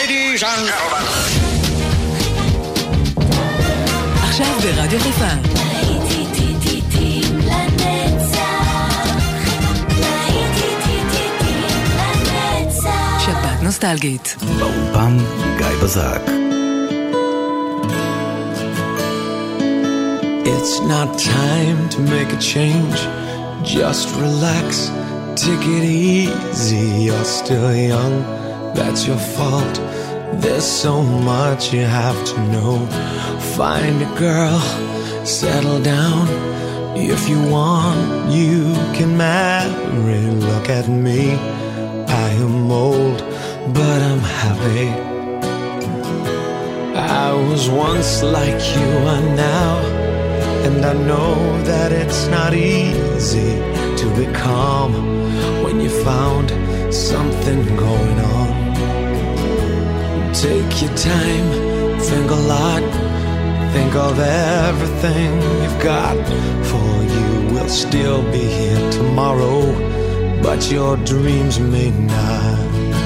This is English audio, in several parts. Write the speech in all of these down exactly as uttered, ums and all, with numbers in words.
Ladies and gentlemen. עכשיו ברדיו חיפה. שבת נוסטלגית. באולפן גיא בזק. It's not time to make a change. Just relax, take it easy. You're still young, that's your fault. There's so much you have to know. Find a girl, settle down. If you want, you can marry. Look at me, I am old, but I'm happy. I was once like you are now, and I know that it's not easy to be calm when you found something going on. Take your time, think a lot, think of everything you've got. For you will still be here tomorrow, but your dreams may not.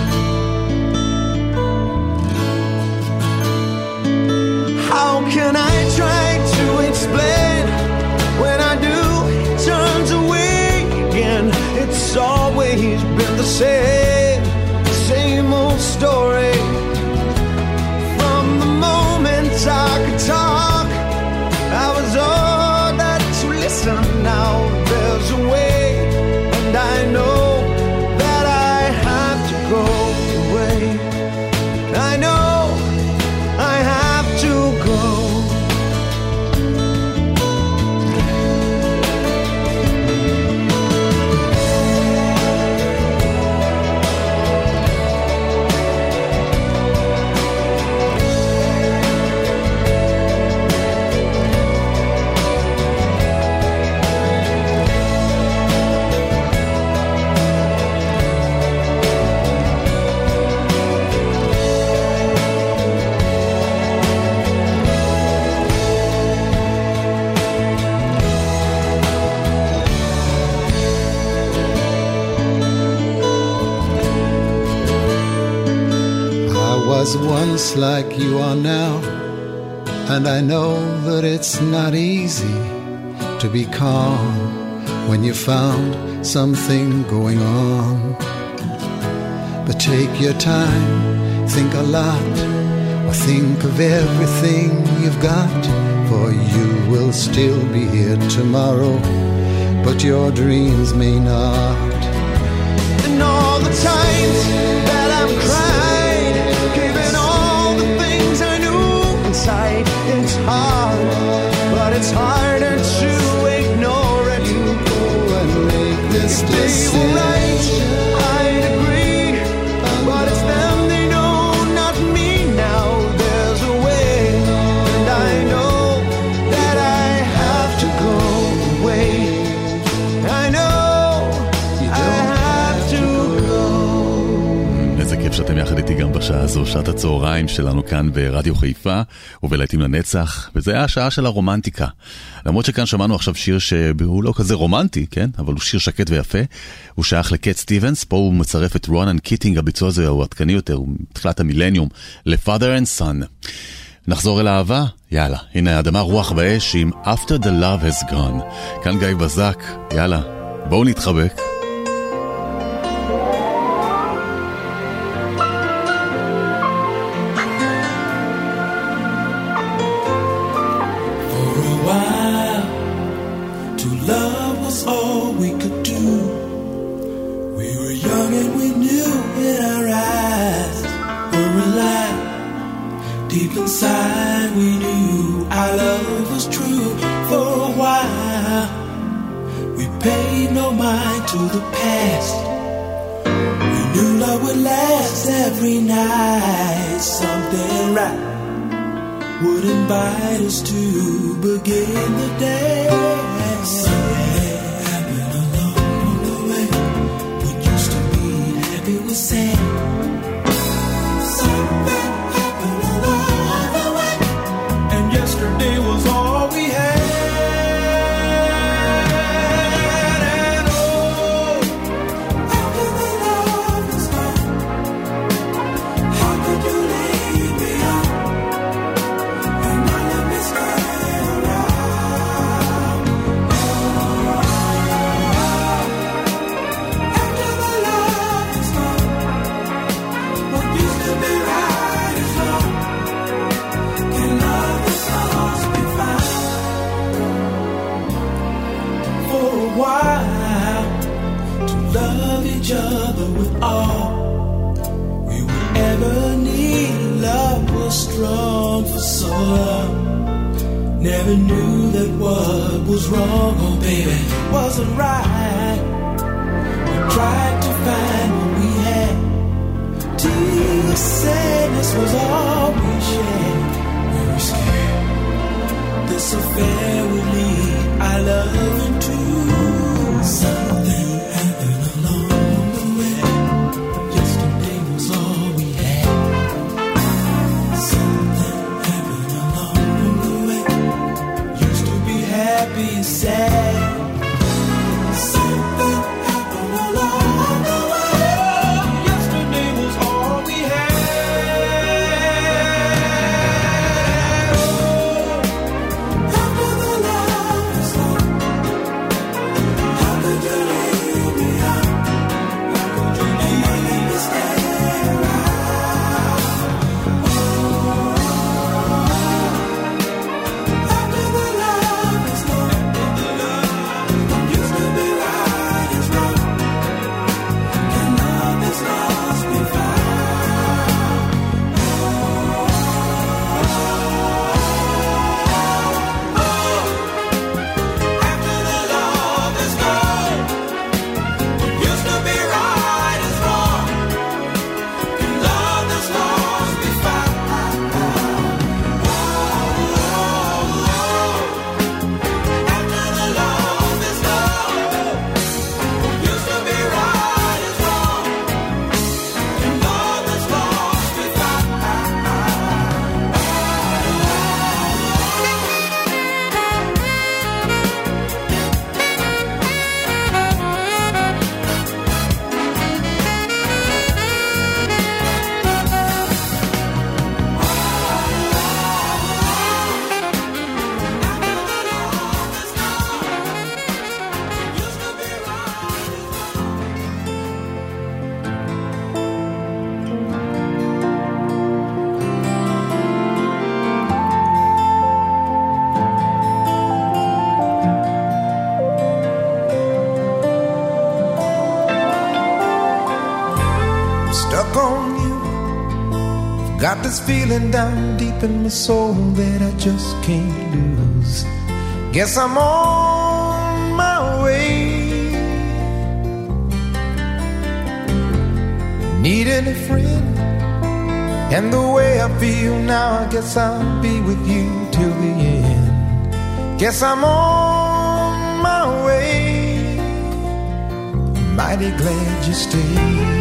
How can I try to explain when I do he turns away again? It's always been the same, same old story. From the moment I could talk, I was all that you listen. Now there's a way, and I know that I have to go away. I know I have to go. Was once like you are now, and I know that it's not easy to be calm when you found something going on. But take your time, think a lot, or think of everything you've got, for you will still be here tomorrow, but your dreams may not. And all the times that I'm crying, giving all the things I knew inside, it's hard, but it's harder to ignore it. You go and make this decision. Right, I'd agree, but it's them, they know, not me. Now there's a way, and I know that I have to go away. I know I have to go. איזה כיף שאתם יחד איתי גם בשעה הזו, שעת הצהריים שלנו כאן ברדיו חיפה ובלהיטים לנצח, וזה היה השעה של הרומנטיקה. למרות שכאן שמענו עכשיו שיר שהוא לא כזה רומנטי, כן? אבל הוא שיר שקט ויפה. הוא שייך לקט סטיבנס, פה הוא מצרף את רונן קיטינג, הביצוע הזה הוא עדכני יותר, הוא מתחילת המילניום, ל-Father and Son. נחזור אל האהבה? יאללה, הנה האדמה רוח באש עם After the Love Has Gone. כאן גיא בזק, יאללה, בואו נתחבק. Deep inside we knew our love was true. For a while we paid no mind to the past. We knew love would last every night. Something right would invite us to begin the day. Something happened along the way. What used to be happy was sad. Something yesterday was all we had, and oh, after the love is gone, how could you live? wrong for so long. Never knew that what was wrong, oh baby, wasn't right. We tried to find what we had, till the sadness was all we shared. We were scared this affair would lead our love into something happened along the way. Yesterday was all we had. Something happened along the way. Used to be happy and sad. Something happened along the way. Yesterday was all we had. After the love is gone, how could you leave me out? How could you leave me stay around? After the love is gone, what used to be right is wrong. Can love that's lost be found? After the love is gone, what used to be right is wrong. Can love that's lost be found? After the love is gone, what used to be right is wrong. Can love that's lost be found? Stuck on you. Got this feeling down deep in my soul that I just can't lose. Guess I'm on my way. Needing a friend, and the way I feel now, I guess I'll be with you till the end. Guess I'm on my way. Mighty glad you stayed.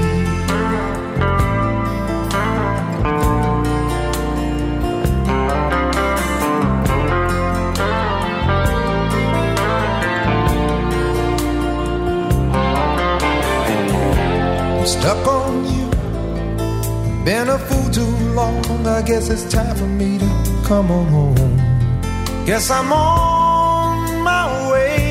I'm stuck on you. Been a fool too long. I guess it's time for me to come on home. Guess I'm on my way.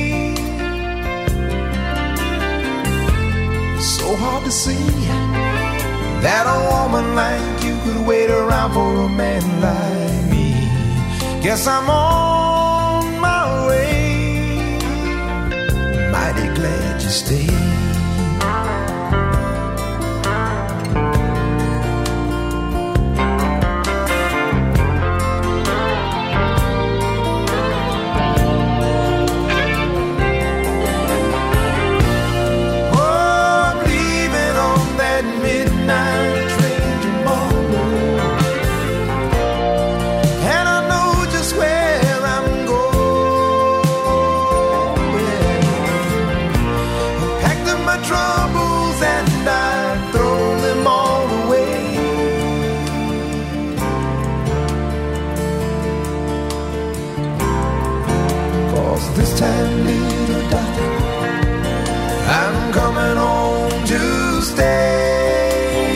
So hard to see that a woman like you could wait around for a man like me. Guess I'm on my way. Mighty glad you stayed. This time, little darling, I'm coming home to stay.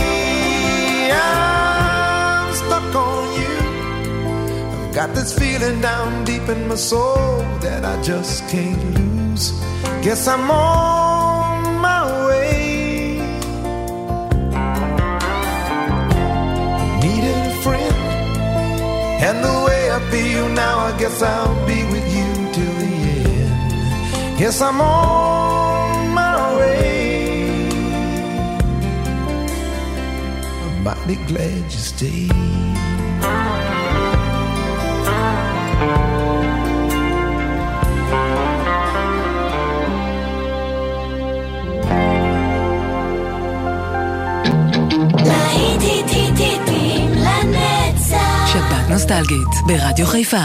I'm stuck on you. I've got this feeling down deep in my soul that I just can't lose. Guess I'm on my way. Needed a friend, and the way I feel now, I guess I'll be with you till the end. Yes, I'm on my way. mighty glad you stayed. שבת נוסטלגית ברדיו חיפה.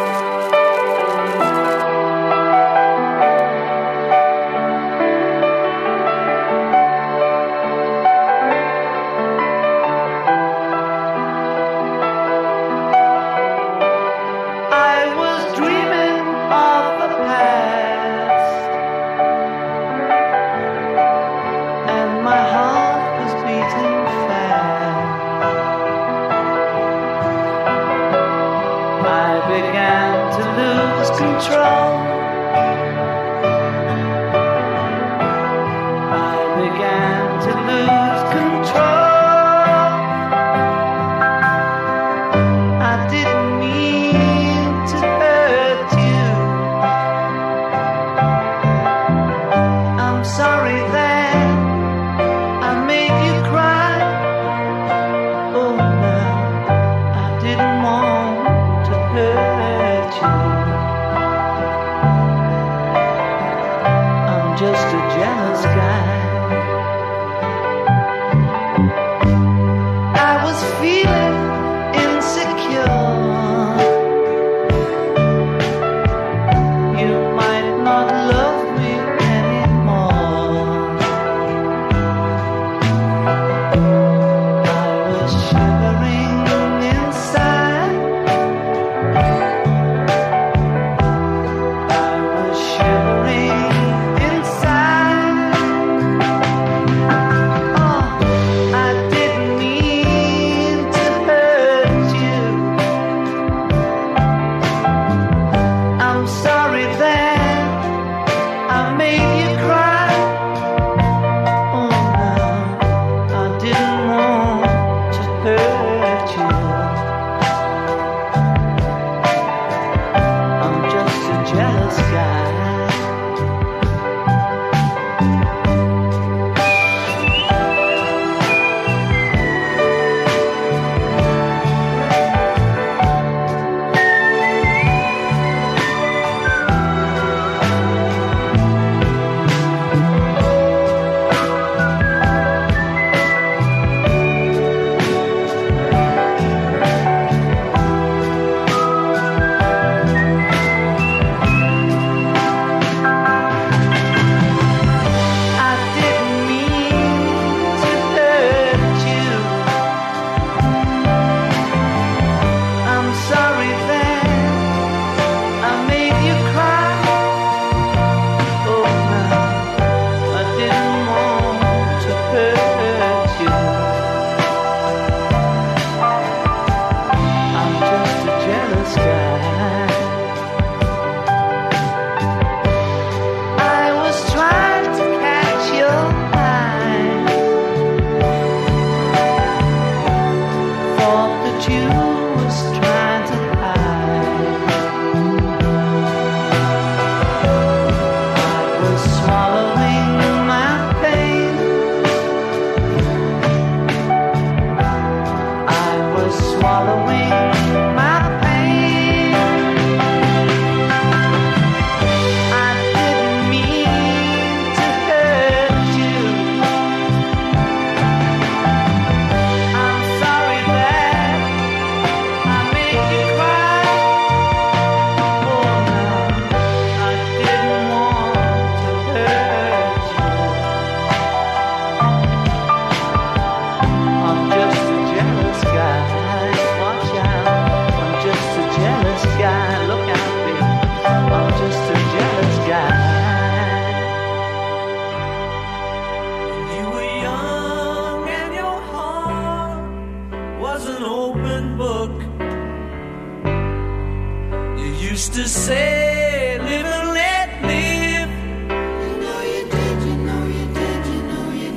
used to say, live and let live. You know you did, you know you did, you know you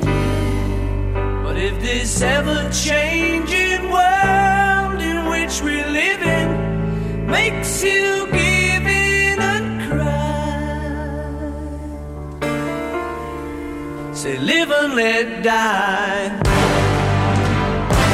did. But if this ever-changing world in which we live in makes you give in and cry, say, live and let die.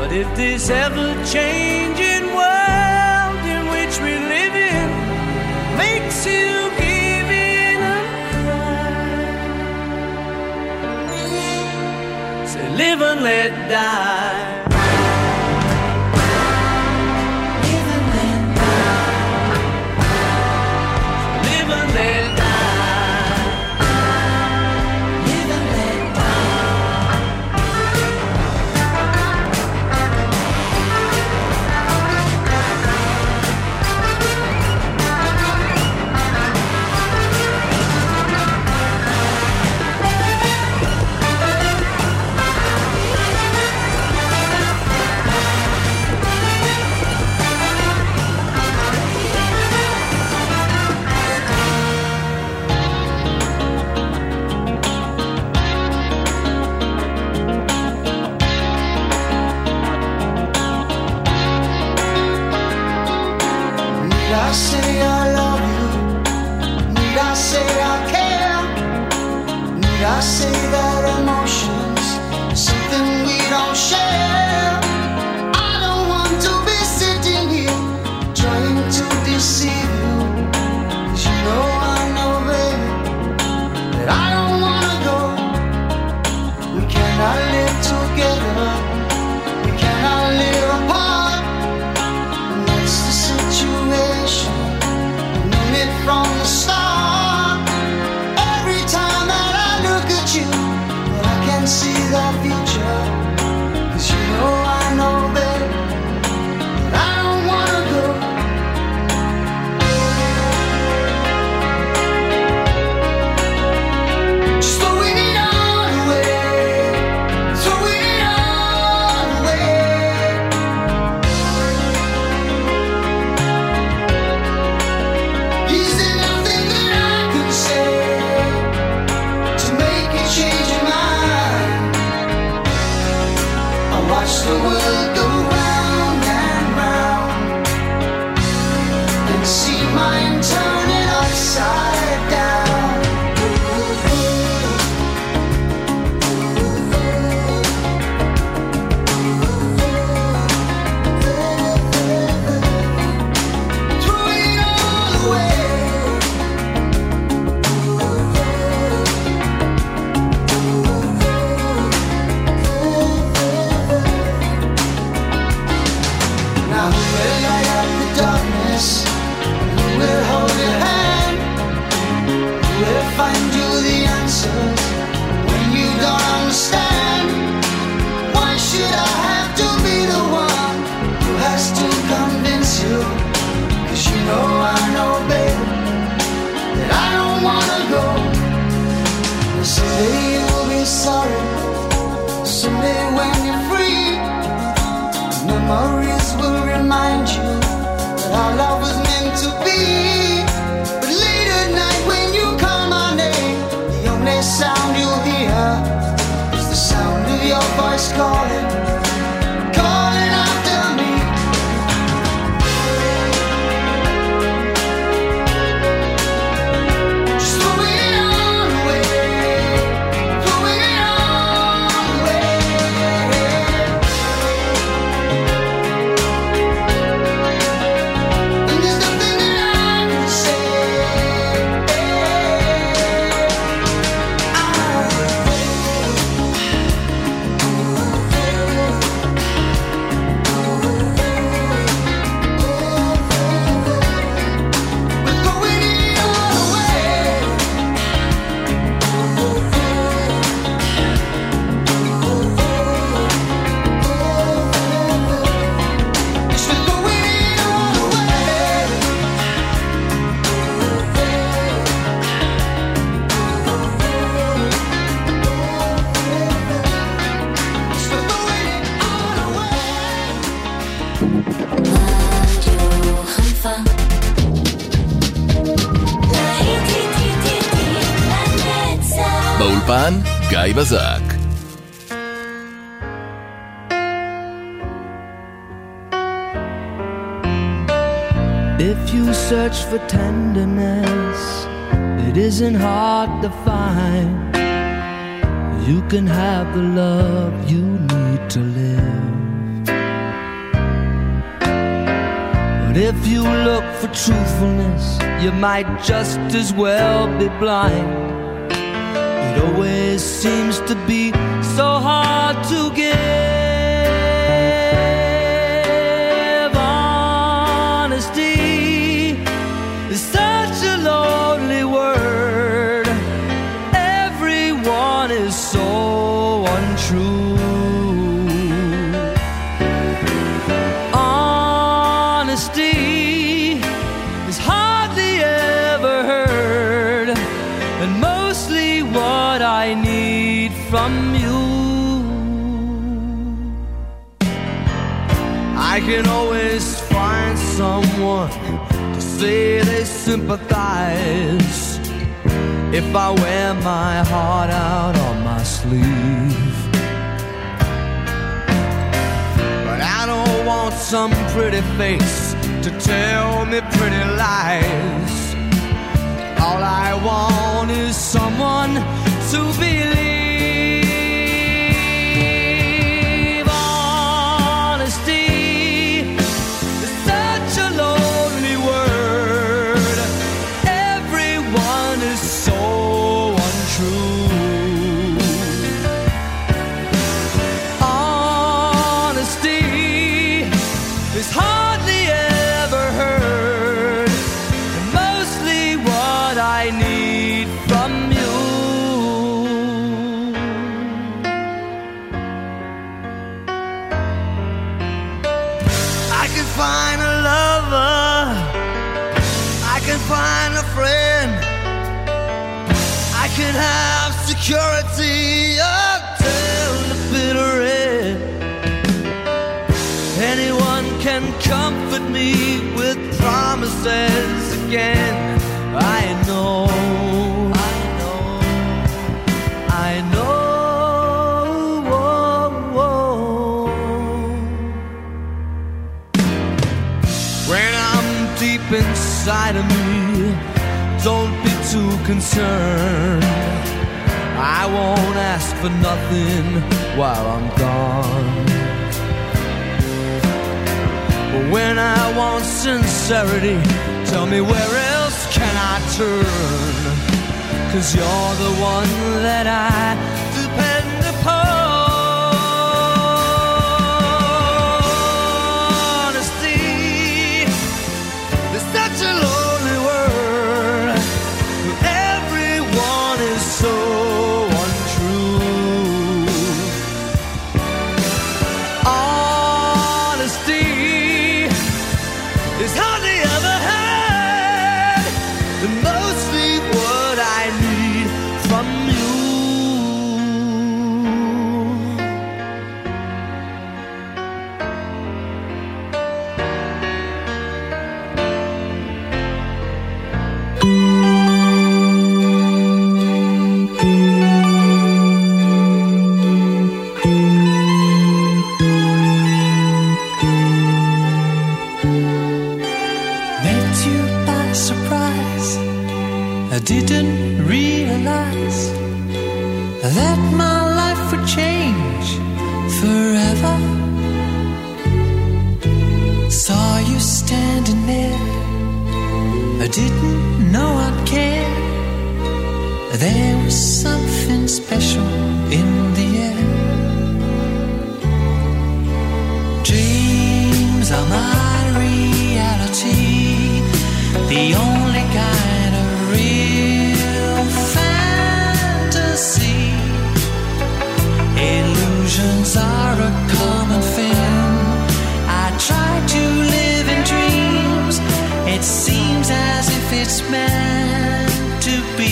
But if this ever-changing world in which we live in makes you give in and cry, say live and let die. I say that emotions are something we don't share. I don't want to be sitting here trying to deceive you, 'cause you know I know, baby, that I don't wanna go. We cannot live together, we cannot live apart, and that's the situation. I've known it from the start. See the future, 'cause you know I know, babe, that I don't wanna go. Just throwing it all away, throwing it all away. Is there nothing that I can say to make you change your mind? Watch the world go round and round and see mine turn it upside down. Throwing it all away. Who will hold your hand? Who will find you the answers when you don't understand? Why should I have to be the one who has to convince you? 'Cause you know I know, babe, that I don't wanna go. And someday you'll be sorry, someday when you're free, memories will remind you our love was meant to be. But late at night when you call my name, the only sound you'll hear is the sound of your voice calling, calling after me. Just throwing it all away, throwing it all away. באולפן גיא בזק. If you search for tenderness, it isn't hard to find. You can have the love you need to live. if you look for truthfulness, you might just as well be blind. It always seems to be so hard to give. Honesty is such a lonely word. Everyone is so untrue. I need from you. I can always find someone to say they sympathize if I wear my heart out on my sleeve. But I don't want some pretty face to tell me pretty lies. All I want is someone to believe. Honesty is such a lonely word. Everyone is so untrue. Honesty is hardly ever heard, and mostly what I need from you. Find a lover, I can find a friend, I can have security until the bitter end. Anyone can comfort me with promises again. I know, I know, I know. Inside of me, don't be too concerned. I won't ask for nothing while I'm gone. But when I want sincerity, tell me where else can I turn? 'Cause you're the one that I depend upon. Such a lonely world, everyone is so untrue. Honesty is hardly ever had, and mostly what I need from you. I didn't realize that my life would change forever. Saw you standing there, I didn't know I'd care. There was something special in the air. Dreams are my reality, the only kind of real fantasy. Illusions are a common thing. I try to live in dreams. It seems as if it's meant to be.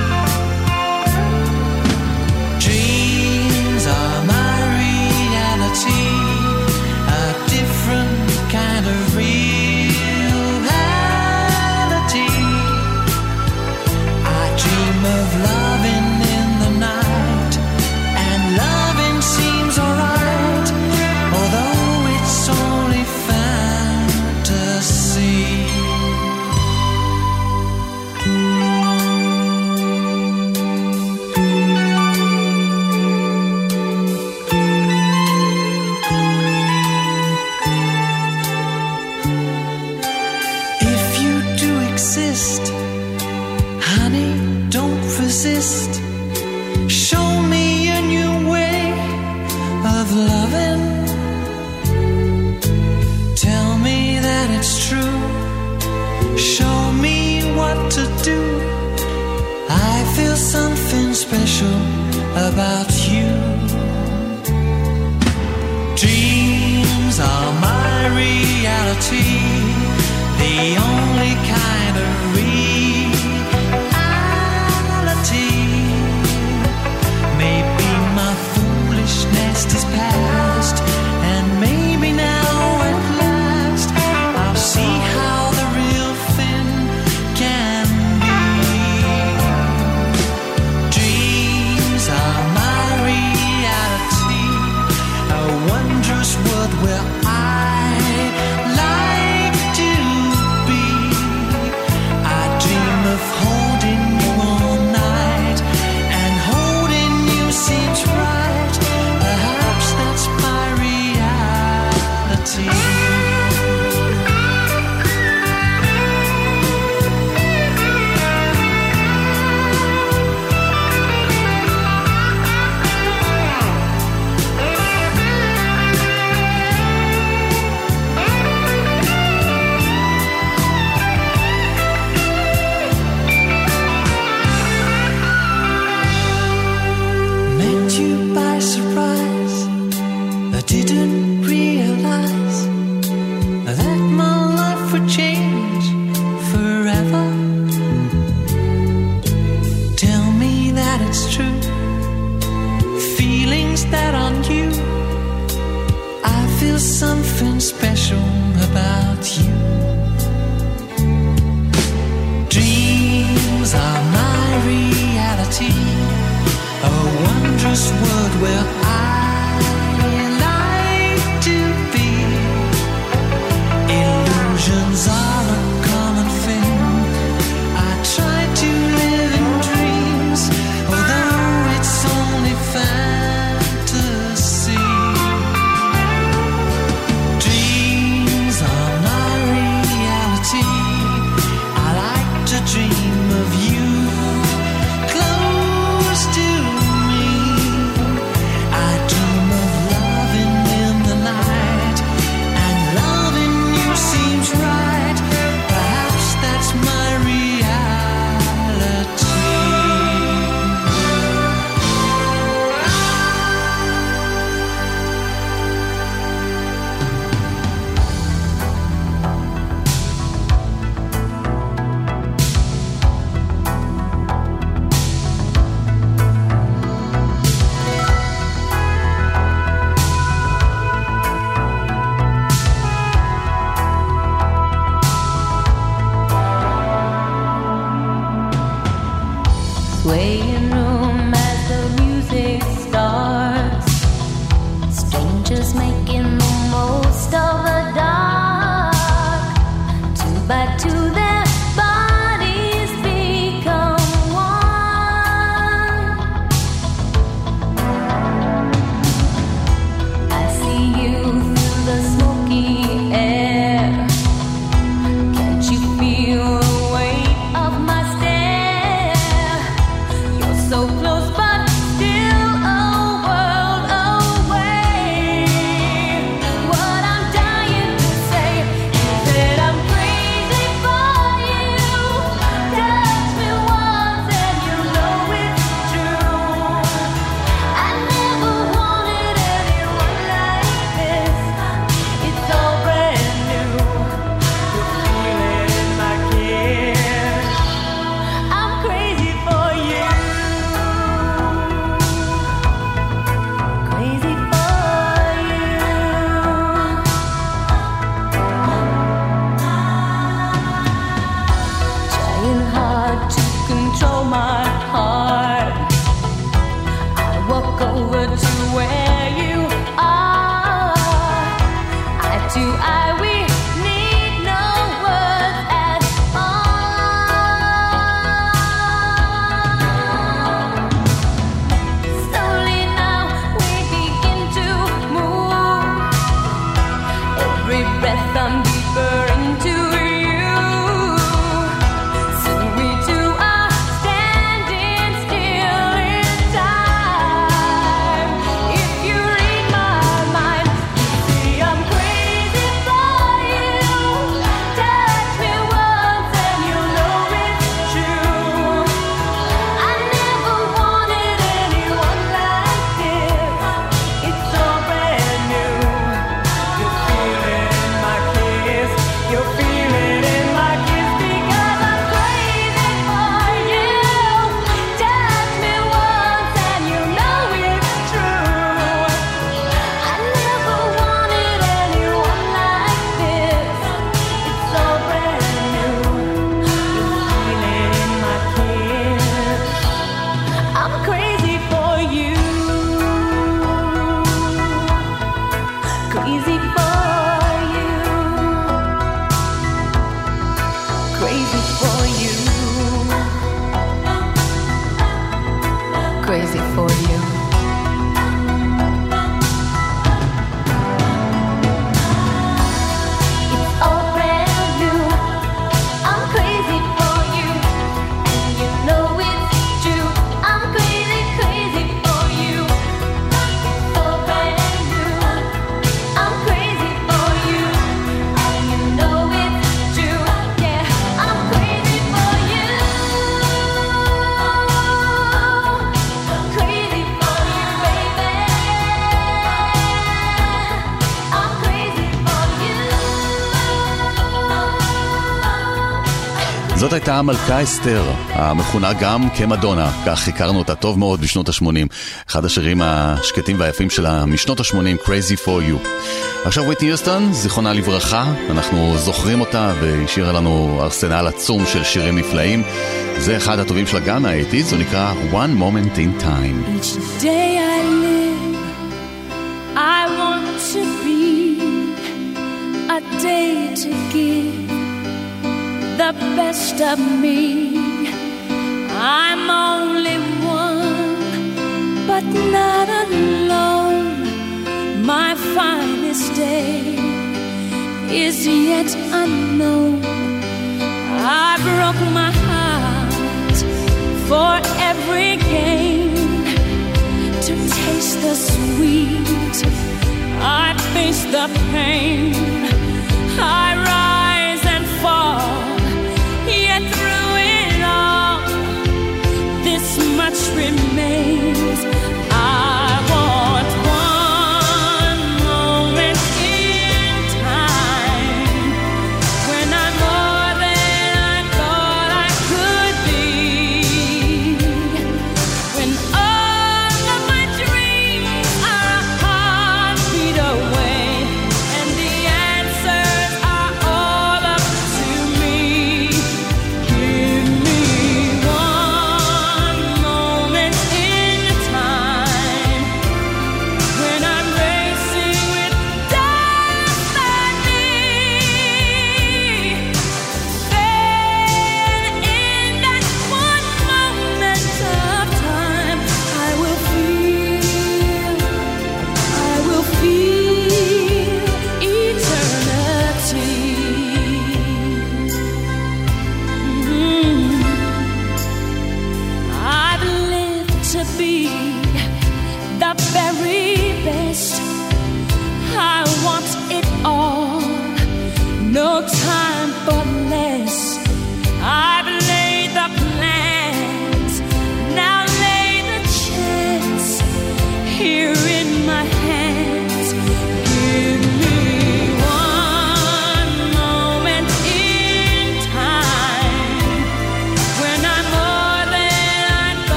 Dreams are my reality, a different kind of reality. I dream of loving in the night, and loving seems alright, although it's only fantasy. about you. Dreams are my reality, the only kind of reality. Maybe my foolishness is past, and maybe now at last I'll see how the real thing can be. Dreams are my reality, a wondrous world where I like to be. I dream of holding you all night, and holding you seems right. Perhaps that's my reality. Met you by surprise. I didn't realize that my life would change forever. Tell me that it's true. Feelings that aren't you. I feel something special about you. Dreams are my reality, a wondrous world where I like to be. Illusions are a common thing. I try to live in dreams, although it's only fantasy. Dreams are my reality. I like to dream of you close to me. I dream of loving in the night, and loving you seems right. Perhaps that's my reality. Swaying room as the music starts, strangers making the most of the dark. Two by two their bodies become one. I see you through the smoky air. Can't you feel the weight of my stare? You're so close but still a world away. What I'm dying to say is that I'm crazy for you. Touch me once and you know it's true. I never wanted anyone like this. It's all brand new. The feeling in my kiss. I'm crazy for you. Crazy for you. Trying hard to control my heart. I walk over to where you are. Eye to eye, we need no words at all. Slowly now we begin to move. Every breath I'm deeper into you. Soon we two are standing still in time. If you read my mind, you see I'm crazy for crazy for you. Crazy for you. It's all brand new. I'm crazy for you. And you know it's true. I'm crazy, crazy for you. It's all brand new. I'm crazy for you. And you know it's true. Yeah, I'm crazy for you. Crazy for you, baby. I'm crazy for you. זאת הייתה מלכה אסתר, המכונה גם כמדונה, כך הכרנו אותה טוב מאוד בשנות ה-שמונים. אחד השירים השקטים והיפים שלה משנות ה-שמונים, Crazy for You. עכשיו וויטני יוסטון, זיכרונה לברכה, אנחנו זוכרים אותה והשאירה לנו ארסנל עצום של שירים נפלאים. זה אחד הטובים שלה גם מה-שמונים, זה נקרא One Moment in Time. Each day I live, I want to be a day to give the best of me. I'm only one, but not alone. My finest day is yet unknown. I broke my heart for every gain, to taste the sweet. I face the pain. I rise and fall, yet through it all, this much remains. I want one moment in time, when I'm more than I thought I could be, when all of my dreams are a heartbeat away, and the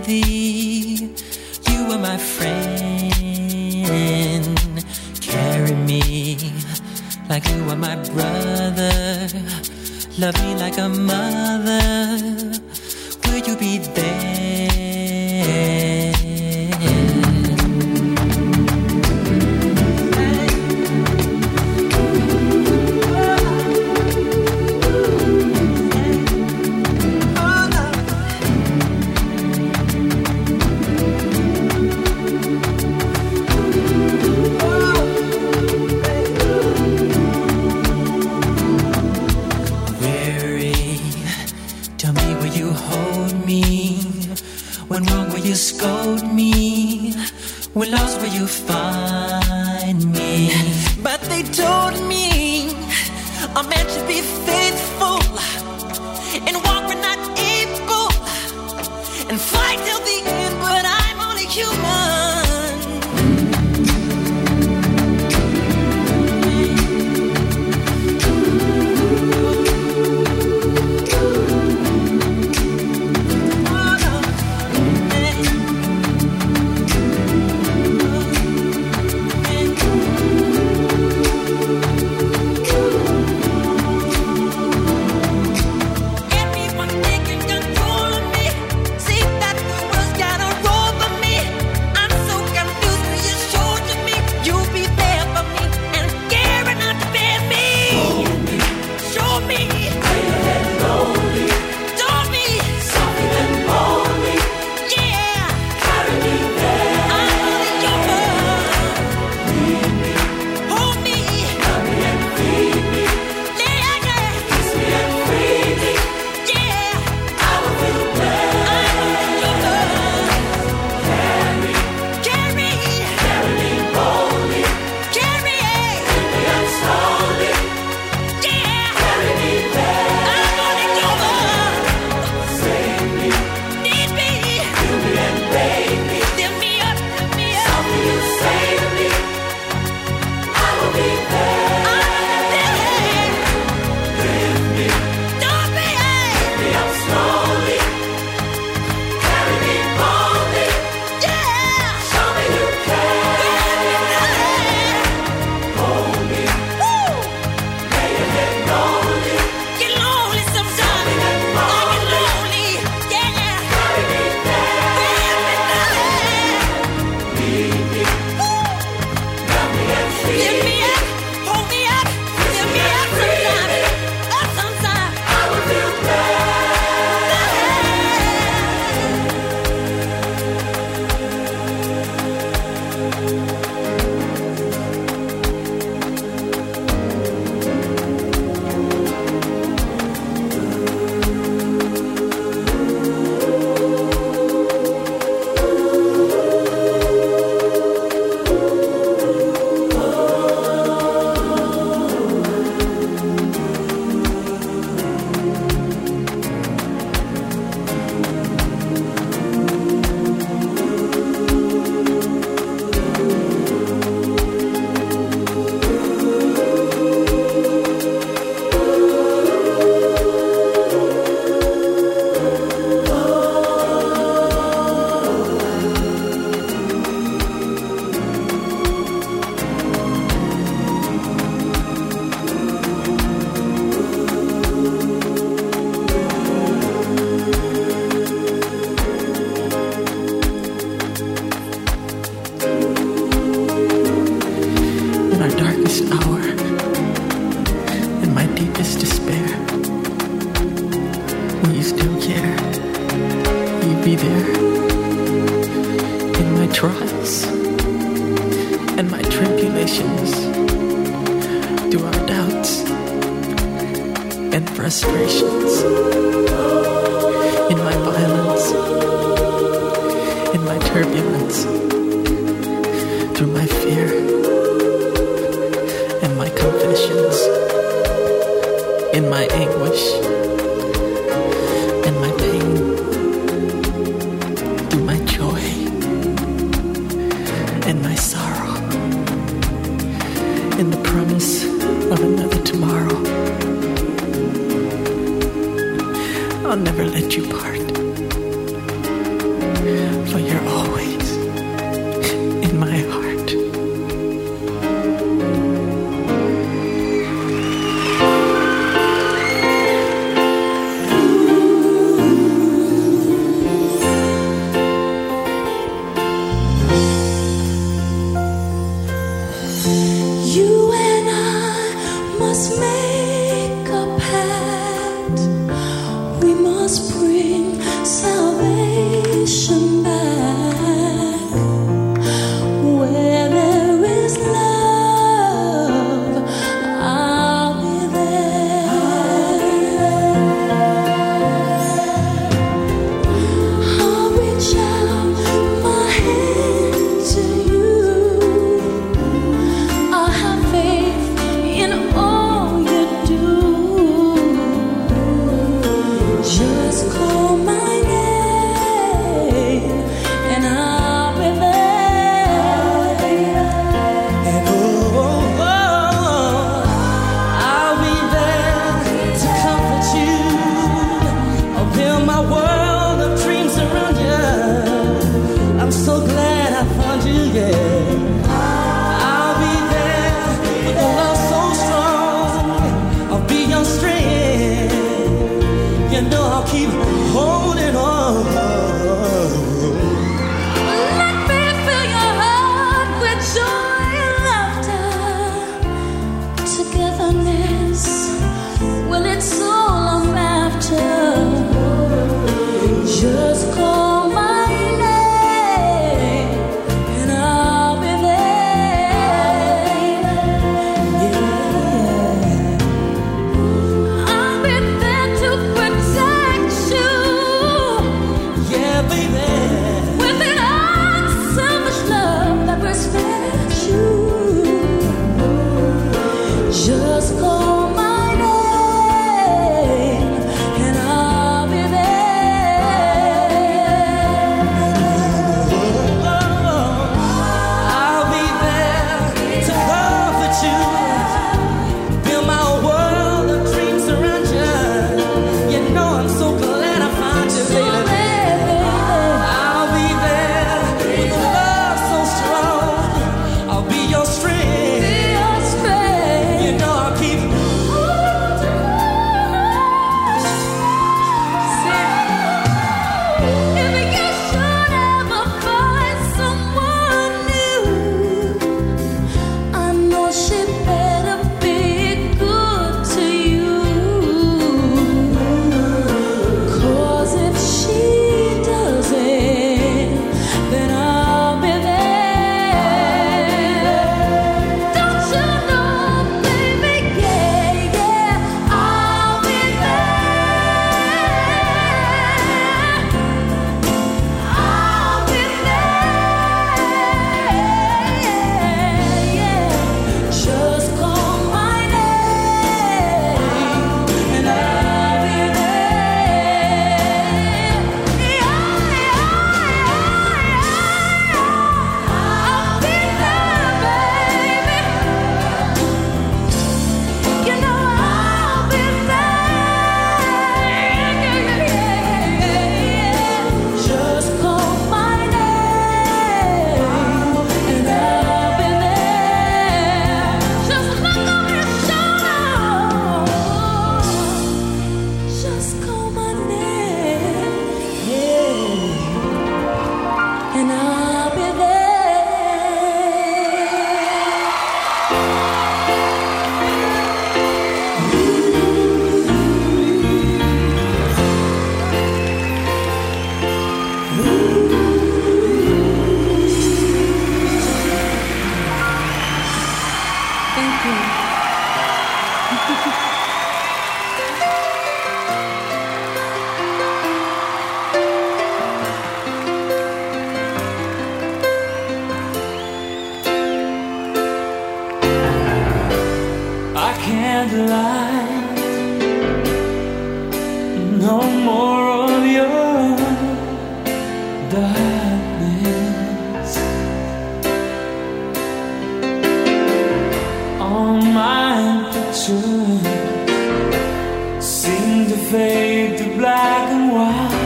thee. You are my friend. Carry me like you are my brother. Love me like a mother. Will you be there? Scold me, when lost will you find me? But they told me a man should be faithful and walk when not able and fight till the end, but I'm only human. I'll never let you part. yeah. I'll be there with a love so strong. I'll be your strength. You know I'll keep holding on. Let me fill your heart with joy and laughter. Togetherness, well, it's all I'm after. Just call my name and I'll be there. Yeah. I'll be there to protect you. Yeah, baby. With an unselfish love that respects you. Just call my name and I'll be there. I'll be there to comfort you. Build my world of dreams around you. You know I'm so glad I found you, baby. I'll be there with a love so strong. I'll be your strength. You know I'll keep. If you should ever find someone new, I know she better be good to you. 'Cause if she doesn't, then I'll be there. Don't you know, baby? Yeah, yeah, I'll be there. I'll be there, yeah. Just call my name and I'll be there. Yeah, I'll be there, baby. You know I'll be there. Just call my name and I'll be there. Just look over your shoulder. Just call my name, yeah, and I'll be Thank you. I can't lie. No more of your darkness. All my pictures seem to fade to black and white.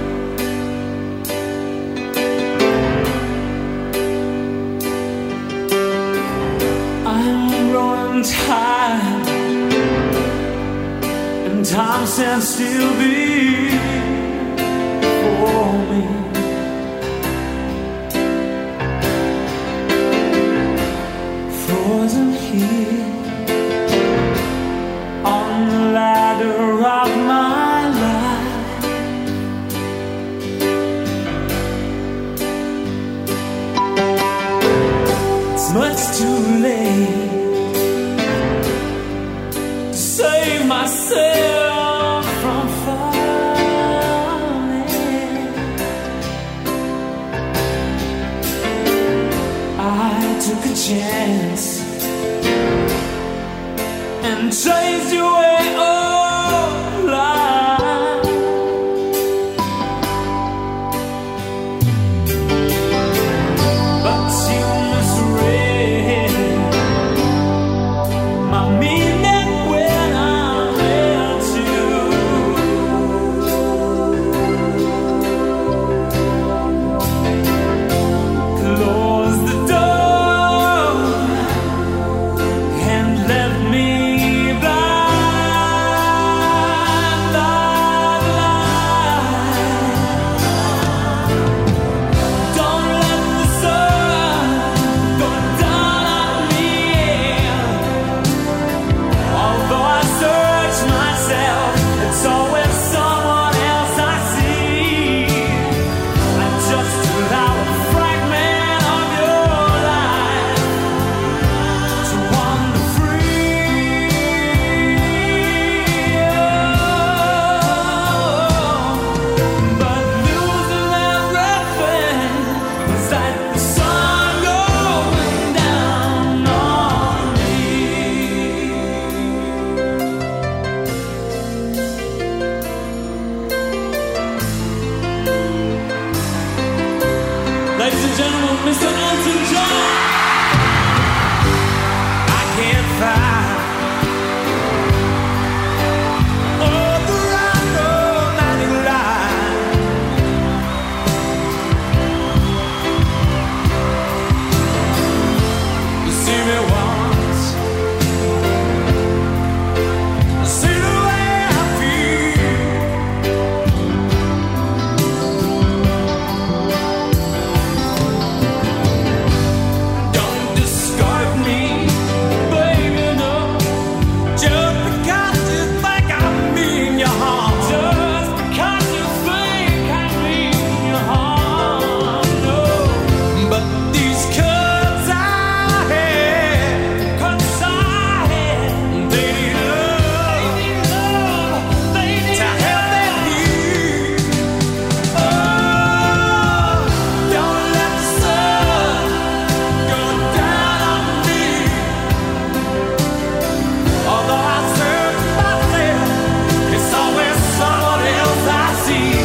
I'm growing tired, and time stands still before me. Frozen here on the ladder of my life. It's much too late to save myself from falling. I took a chance and chased you away all life. But you misread my meaning when I held you. Close the door. and gentlemen, Mister Elton John. I can't find all the right romantic line. You see me once, see the way I feel. Don't discard me, baby, no. Just because you think I mean you harm. Just because you think I mean you harm, no. But these cuts I had, cuts I had, they need love, they need love, they need to help them heal. Oh, don't let the sun go down on me. Although I search myself, it's always someone else I see.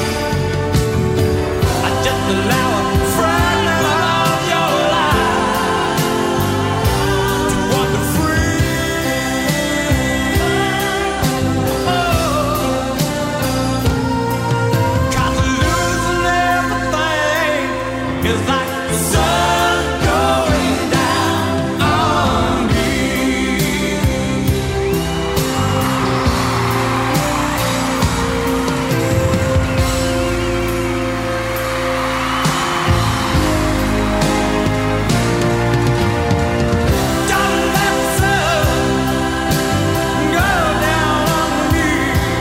I just allow a fragment of your life to wander free. Cause losing everything is like the sun going down on me. Don't let the sun go down on me.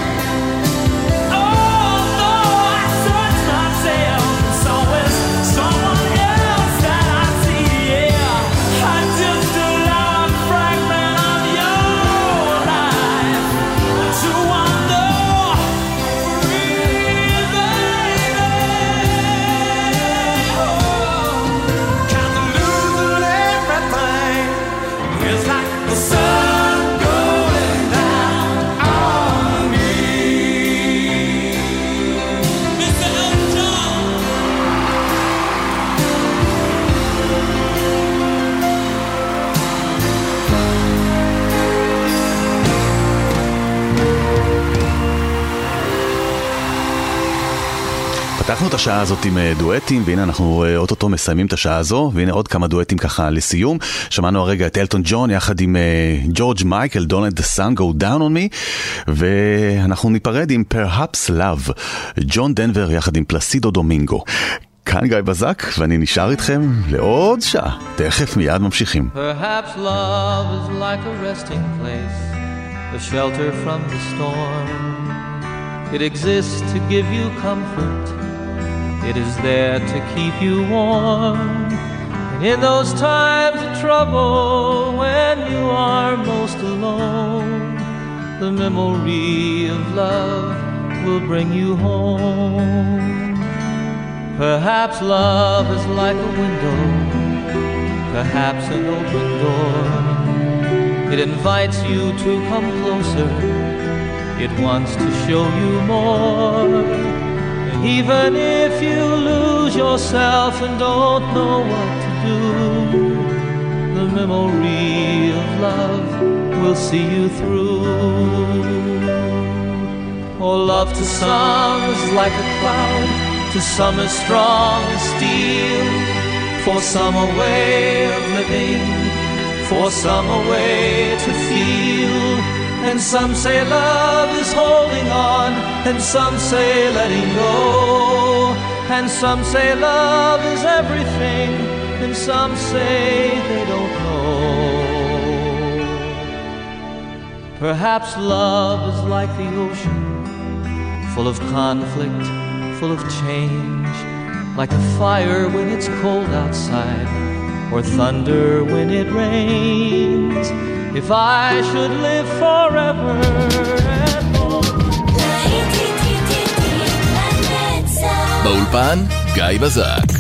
Although I search myself, it's always someone else that I see. Yeah, I just allow a fragment of your life to wander free, baby. Oh, 'cause losing everything is like the sun going down on me. Mister Elton John. פתחנו את השעה הזאת עם אה, דואטים, והנה אנחנו אה, אוטוטו מסיימים את השעה הזו, והנה עוד כמה דואטים ככה לסיום. שמענו הרגע את אלטון ג'ון יחד עם אה, ג'ורג' מייקל, Don't let the sun go down on me, ואנחנו ניפרד עם Perhaps Love, ג'ון דנבר יחד עם פלסידו דומינגו. כאן גיא בזק, ואני נשאר איתכם לעוד שעה. תכף מיד ממשיכים. Perhaps love is like a resting place, a shelter from the storm. It exists to give you comfort. It is there to keep you warm. And in those times of trouble, when you are most alone, the memory of love will bring you home. Perhaps love is like a window, perhaps an open door. It invites you to come closer. It wants to show you more. And even if you lose yourself and don't know what to do, the memory of love will see you through. Oh, love to some is like a cloud, to some is strong as steel. For some a way of living, for some a way to feel. And some say love is holding on, and some say letting go. And some say love is everything, and some say they don't know. Perhaps love is like the ocean, full of conflict, full of change. Like a fire when it's cold outside, or thunder when it rains. If I should live forever and more. באולפן גיא בזק.